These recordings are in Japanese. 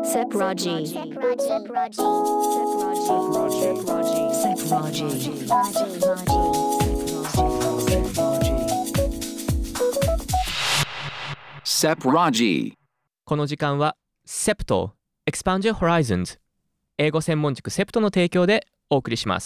Sepraji. Sepraji。 この時間は SEPT Expand Your Horizons 英語専門塾 SEPT の提供でお送りします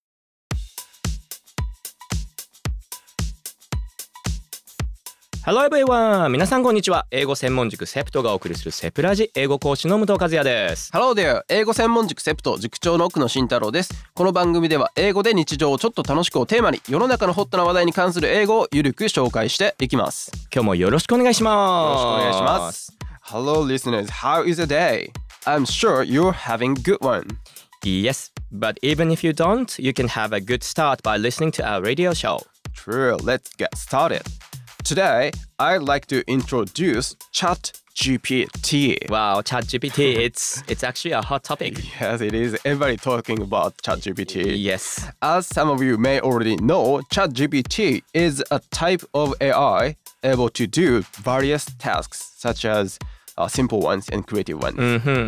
。Hello everyone! 皆さんこんにちは。英語専門塾 SEPT がお送りするセプラジ英語講師の武藤和也です。 Hello there! 英語専門塾 SEPT 塾長の奥野慎太郎です。この番組では英語で日常をちょっと楽しくをテーマに世の中のホットな話題に関する英語をゆるく紹介していきます。 今日もよろしくお願いします。 よろしくお願いします。 Hello listeners, how is the day? I'm sure you're having a good one. Yes, but even if you don't, you can have a good start by listening to our radio show. True, let's get started.Today, I'd like to introduce ChatGPT. Wow, ChatGPT, it's actually a hot topic. Yes, it is. Everybody talking about ChatGPT. Yes. As some of you may already know, ChatGPT is a type of AI able to do various tasks, such as simple ones and creative ones.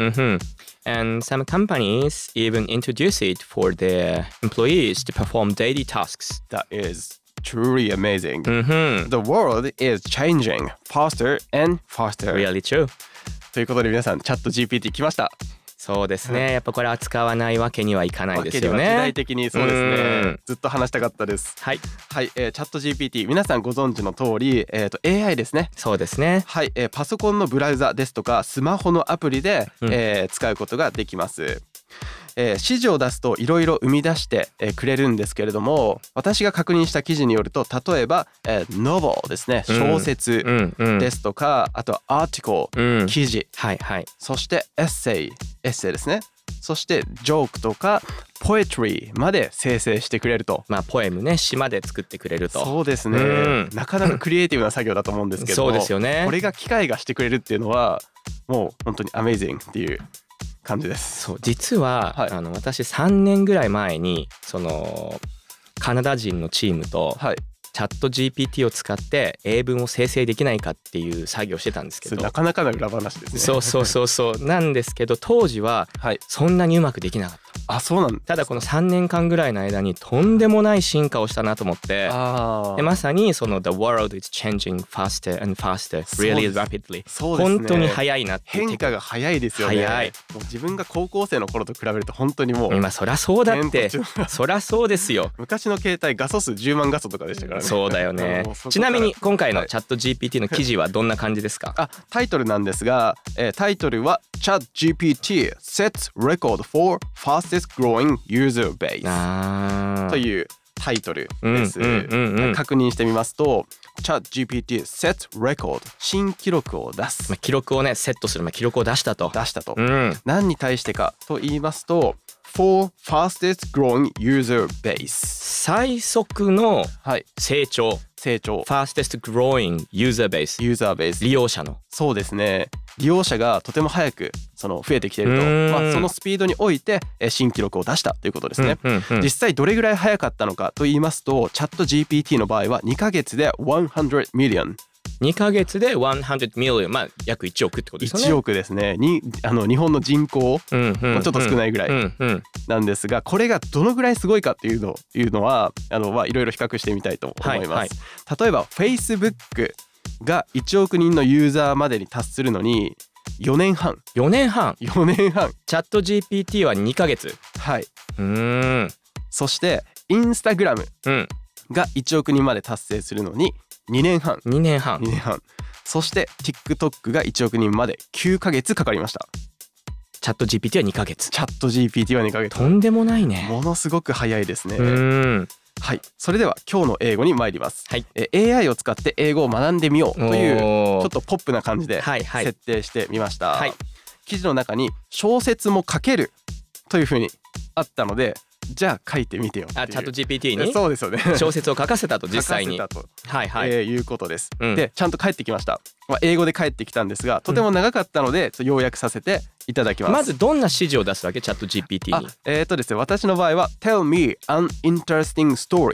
And some companies even introduce it for their employees to perform daily tasks. That is truly amazing. The world is changing faster and faster. Really true. ということで皆さん、チャット GPT 来ました。 そうですね。やっぱこれ扱わないわけにはいかないですよね。 わけには時代的にそうですね。ずっと話したかったです。 はい。 はい、チャット GPT 皆さんご存知の通り、AI ですね。 そうですね。 はい、パソコンのブラウザですとかスマホのアプリで、使うことができます。指示を出すといろいろ生み出してくれるんですけれども、私が確認した記事によると、例えば、novel ですね、小説ですとか、あとアーティコル、記事、 はいはい、 そしてエッセイですね、そしてジョークとかポエトリーまで生成してくれると。 まあポエムね、詩まで作ってくれると。 そうですね、なかなかクリエイティブな作業だと思うんですけども、 そうですよね。 これが機械がしてくれるっていうのはもう本当にアメイジングっていう感じです。 そう、実は、 はい、 私3年ぐらい前にそのカナダ人のチームと、 はい、 チャット GPT を使って英文を生成できないかっていう作業をしてたんですけど、 なかなかの裏話ですね。 そうなんですけど、当時はそんなにうまくできなかった。 あ、そうなんだ。 ただこの3年間ぐらいの間にとんでもない進化をしたなと思って、でまさにその The world is changing faster and faster really rapidly。 そうですね、 本当に早いなって。 変化が早いですよね。 早い。 もう自分が高校生の頃と比べると本当にもう今そりゃそうだってそりゃそうですよ。 昔の携帯画素数10万画素とかでしたからね。 そうだよね。ちなみに今回のチャット GPT の記事はどんな感じですか？ タイトルなんですが、タイトルは ChatGPT sets record for fastest growing user base というタイトルです。確認してみますと、ChatGPT sets record 新記録を出す。 記録をねセットする、記録を出したと。 何に対してかと言いますと、for fastest growing user base 最速の成長、fastest growing user base 利用者の。そうですね。利用者がとても早く増えてきていると、そのスピードにおいて新記録を出したということですね。実際どれぐらい早かったのかと言いますと、チャット GPT の場合は2ヶ月で100 million。 2ヶ月で100 million、まあ約1億ってことですよね。 1億ですね。日本の人口、ちょっと少ないぐらいなんですが、これがどのぐらいすごいかっていうのはいろいろ比較してみたいと思います。例えば Facebook が1億人のユーザーまでに達するのに4年半。チャット GPT は2ヶ月。 はい。そしてインスタグラムが1億人まで達成するのに2年半。そして TikTok が1億人まで9ヶ月かかりました。 チャット GPT は2ヶ月。 チャット GPT は2ヶ月。 とんでもないね。 ものすごく早いですね。はい、それでは今日の英語に参ります。AI を使って英語を学んでみようというちょっとポップな感じで設定してみました。記事の中に小説も書けるというふうにあったので、じゃあ書いてみてよっていう。 チャット GPT にそうですよね。 小説を書かせたと、実際に書かせたと、いうことです。でちゃんと返ってきました。英語で返ってきたんですが、とても長かったので要約させていただきます。 まずどんな指示を出すわけ？チャット GPT に。 ですね、私の場合は Tell me an interesting story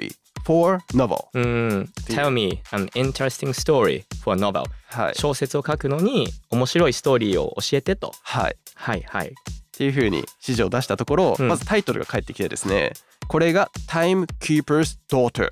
for novel。 Tell me an interesting story for a novel。 はい。 小説を書くのに面白いストーリーを教えてと。 はい。 はいはい。 っていう風に指示を出したところ、まずタイトルが返ってきてですね、これが Timekeeper's Daughter。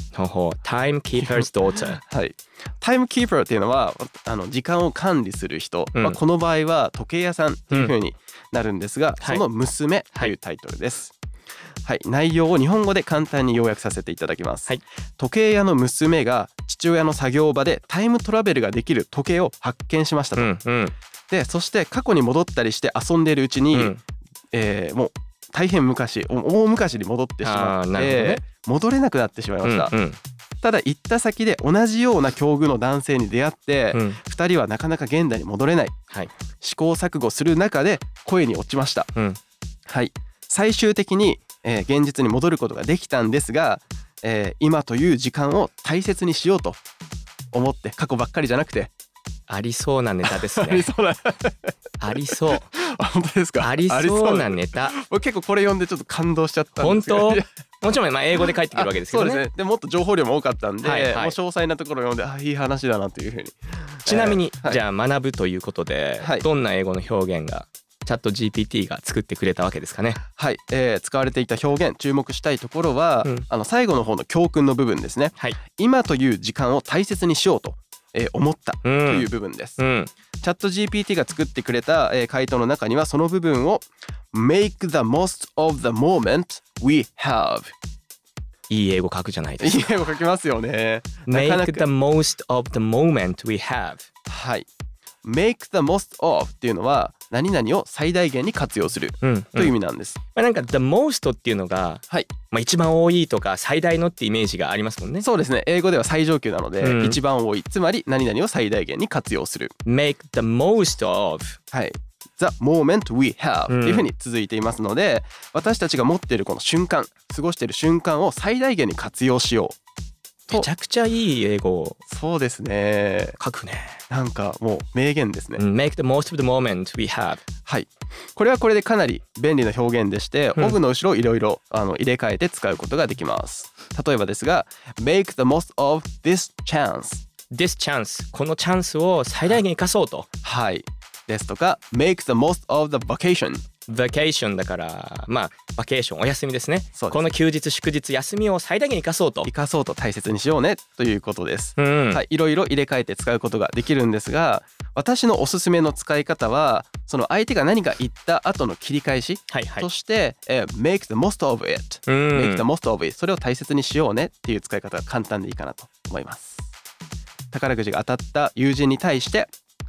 Timekeeper's Daughter。 はい。Timekeeper っていうのは時間を管理する人、この場合は時計屋さんっていう風になるんですが、その娘というタイトルです。はい、内容を日本語で簡単に要約させていただきます、時計屋の娘が父親の作業場でタイムトラベルができる時計を発見しましたと、でそして過去に戻ったりして遊んでいるうちに、もう大変昔、大昔に戻ってしまって、戻れなくなってしまいました、ただ行った先で同じような境遇の男性に出会って、2人はなかなか現代に戻れない、試行錯誤する中で恋に落ちました、はい、最終的に現実に戻ることができたんですが、今という時間を大切にしようと思って、過去ばっかりじゃなくて、 ありそうなネタですね。 ありそうなありそう。 本当ですか。 ありそうなネタ。 結構これ読んでちょっと感動しちゃったんですけど。 本当？もちろん英語で返ってくるわけですけどね。 そうですね。でもっと情報量も多かったんで、もう詳細なところを読んで、いい話だなというふうに。 ちなみに、じゃあ学ぶということで、どんな英語の表現がチャット GPT が作ってくれたわけですかね。 はい、使われていた表現、注目したいところは、最後の方の教訓の部分ですね、今という時間を大切にしようと、思ったという部分です、チャット GPT が作ってくれた、回答の中にはその部分を Make the most of the moment we have。 いい英語書くじゃないですか。 いい英語書きますよね。 Make the most of the moment we have。 はい、Make the most of っていうのは何々を最大限に活用するという意味なんです、 なんか the most っていうのが、一番多いとか最大のってイメージがありますもんね。 そうですね。英語では最上級なので、一番多い、つまり何々を最大限に活用する。 Make the most of、 はい、The moment we have っていうふうに続いていますので、私たちが持っているこの瞬間、過ごしている瞬間を最大限に活用しよう。 めちゃくちゃいい英語をそうですね。 書くね。 なんかもう名言ですね。 Make the most of the moment we have。 はい、これはこれでかなり便利な表現でして、of の後ろをいろいろ入れ替えて使うことができます。例えばですが Make the most of this chance。 This chance、 このチャンスを最大限生かそうと。 はいですとか Make the most of the vacation。 vacation だからバケーション、お休みですね。この休日祝日休みを最大限生かそうと大切にしようねということです、はい、いろいろ入れ替えて使うことができるんですが、私のおすすめの使い方はその相手が何か言った後の切り返しとして、make the most of it、make the most of it、 それを大切にしようねっていう使い方が簡単でいいかなと思います。宝くじが当たった友人に対して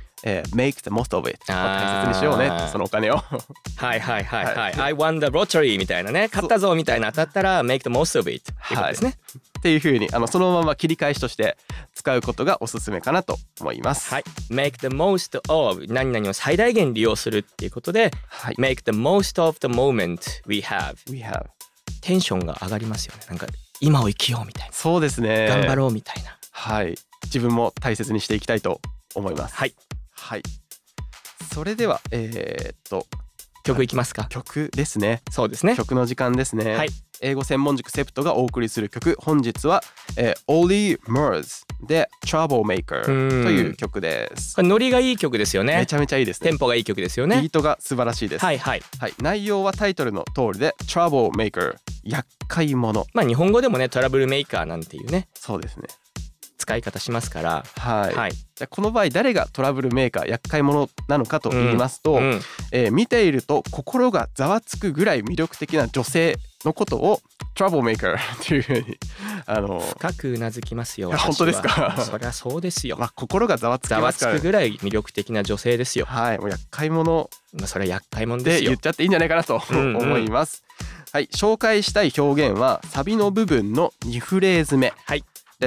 make the most of it、 大切にしようね、そのお金をはいはいはいはい、I won the lottery みたいなね、勝ったぞみたいな当たったら make the most of it っていうことですね、 っていう風にそのまま切り返しとして使うことがおすすめかなと思います。 はい、make the most of 何々を最大限利用するっていうことで、make the most of the moment we have。 テンションが上がりますよね。なんか今を生きようみたいな。 そうですね。 頑張ろうみたいな。 はい、自分も大切にしていきたいと思います。はいはい、それでは曲いきますか。 曲ですね。 そうですね。 曲の時間ですね。はい、英語専門塾セプトがお送りする曲、本日は、Olly Murs で Troublemaker という曲です。 これノリがいい曲ですよね。 めちゃめちゃいいですね。 テンポがいい曲ですよね。 ビートが素晴らしいです。はいはいはい。内容はタイトルの通りで Troublemaker、 厄介者。 日本語でもねトラブルメーカーなんていうね。 そうですね。 使い方しますから。 はい。じゃあこの場合誰がトラブルメーカー、厄介者なのかと言いますと、見ていると心がざわつくぐらい魅力的な女性のことをトラブルメーカーというふうに深くうなずきますよ。 本当ですか。 そりゃそうですよ。 心がざわつきますから。 ざわつくぐらい魅力的な女性ですよ。 はい、もう厄介者。 それは厄介者ですよ。 で言っちゃっていいんじゃないかなと思います。はい、紹介したい表現はサビの部分の2フレーズ目です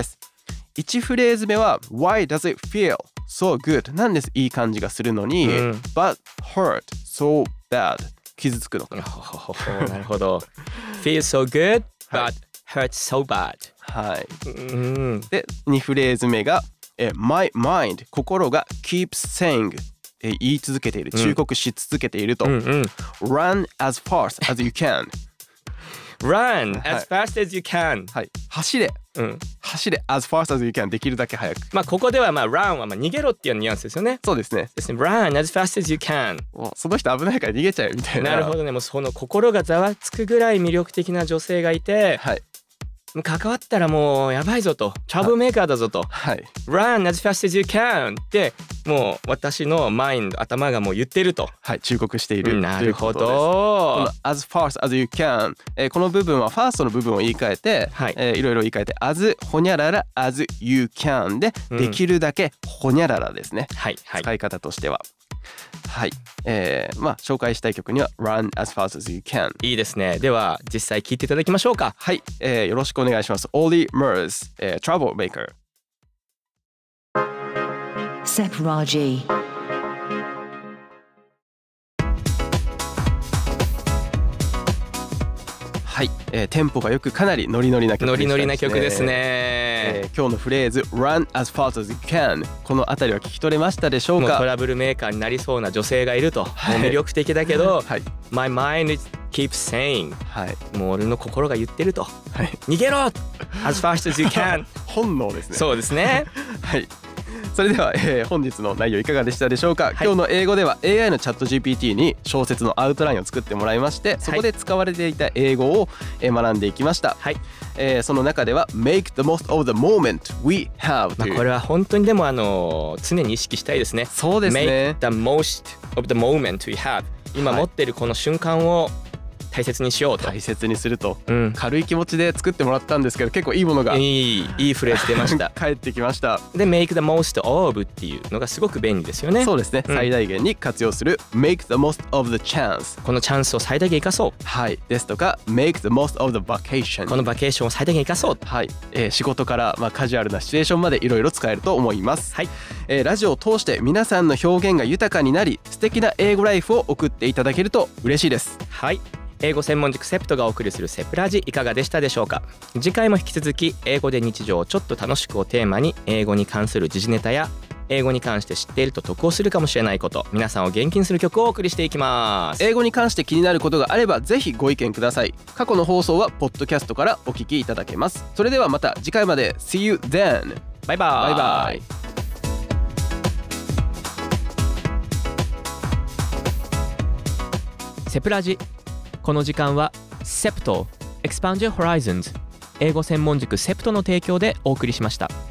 。1フレーズ目は Why does it feel so good なんです。いい感じがするのに、But hurt so bad 傷つくのかな。 なるほど。Feel so good but hurt so bad。はい。 で2フレーズ目がMy mind 心が keeps saying 言い続けている、忠告し続けていると、Run as fast as you can。 Run はい as fast as you can、 はい、走れ走れ as fast as you can できるだけ早く。 ここではrun は逃げろっていうニュアンスですよね。 そうですね。 ですね。Run as fast as you can。 もうその人危ないから逃げちゃえみたいな。 なるほどね。もうその心がざわつくぐらい魅力的な女性がいて、 はい、 関わったらもうやばいぞと、トラブルメーカーだぞと、 はい、 Run as fast as you can ってもう私のマインド頭がもう言ってると、 はい、忠告している。 なるほど。 この as fast as you can、この部分はファーストの部分を言い換えて、 はい、 いろいろ言い換えて as ほにゃらら as you can で、できるだけほにゃららですね、 はいはい、 使い方としては。はい、紹介したい曲には Run as fast as you can。 いいですね。では実際聴いていただきましょうか。 はい、よろしくお願いします。Ollie Murs、Trouble Maker。 Sep Raji。 はい、テンポがよくかなりノリノリな曲でしたね。 ノリノリな曲ですね。 今日のフレーズ Run as fast as you can、 このあたりは聞き取れましたでしょうか。 もうトラブルメーカーになりそうな女性がいると、 はい、 もう魅力的だけど、 はい、 My mind keeps saying、 はい、 もう俺の心が言ってると、 はい、 逃げろ as fast as you can 本能ですね。 そうですねはい、それでは、本日の内容いかがでしたでしょうか。 はい、 今日の英語では AI のチャット GPT に小説のアウトラインを作ってもらいまして、そこで使われていた英語を学んでいきました。 はい、 その中では Make the most of the moment we have という、 これは本当にでも常に意識したいですね。 そうですね。 Make the most of the moment we have、 今持っているこの瞬間を大切にしようと、 大切にすると、 うん、 軽い気持ちで作ってもらったんですけど、結構いいものがいいフレーズ出ました帰ってきました。 で Make the most of っていうのがすごく便利ですよね。 そうですね、 うん、 最大限に活用する Make the most of the chance、 このチャンスを最大限生かそう、 はい、ですとか Make the most of the vacation、 このバケーションを最大限生かそう、 はい、仕事から、カジュアルなシチュエーションまでいろいろ使えると思います。 はい、 ラジオを通して皆さんの表現が豊かになり、素敵な英語ライフを送っていただけると嬉しいです。 はい、英語専門塾セプトがお送りするセプラジ、いかがでしたでしょうか。次回も引き続き英語で日常をちょっと楽しくをテーマに、英語に関する時事ネタや英語に関して知っていると得をするかもしれないこと、皆さんを元気にする曲をお送りしていきます。 英語に関して気になることがあればぜひご意見ください。過去の放送はポッドキャストからお聞きいただけます。それではまた次回まで。 See you then。 バイバイ。 バイバイ。 セプラジ、この時間はセプト Expand Your Horizons 英語専門塾セプトの提供でお送りしました。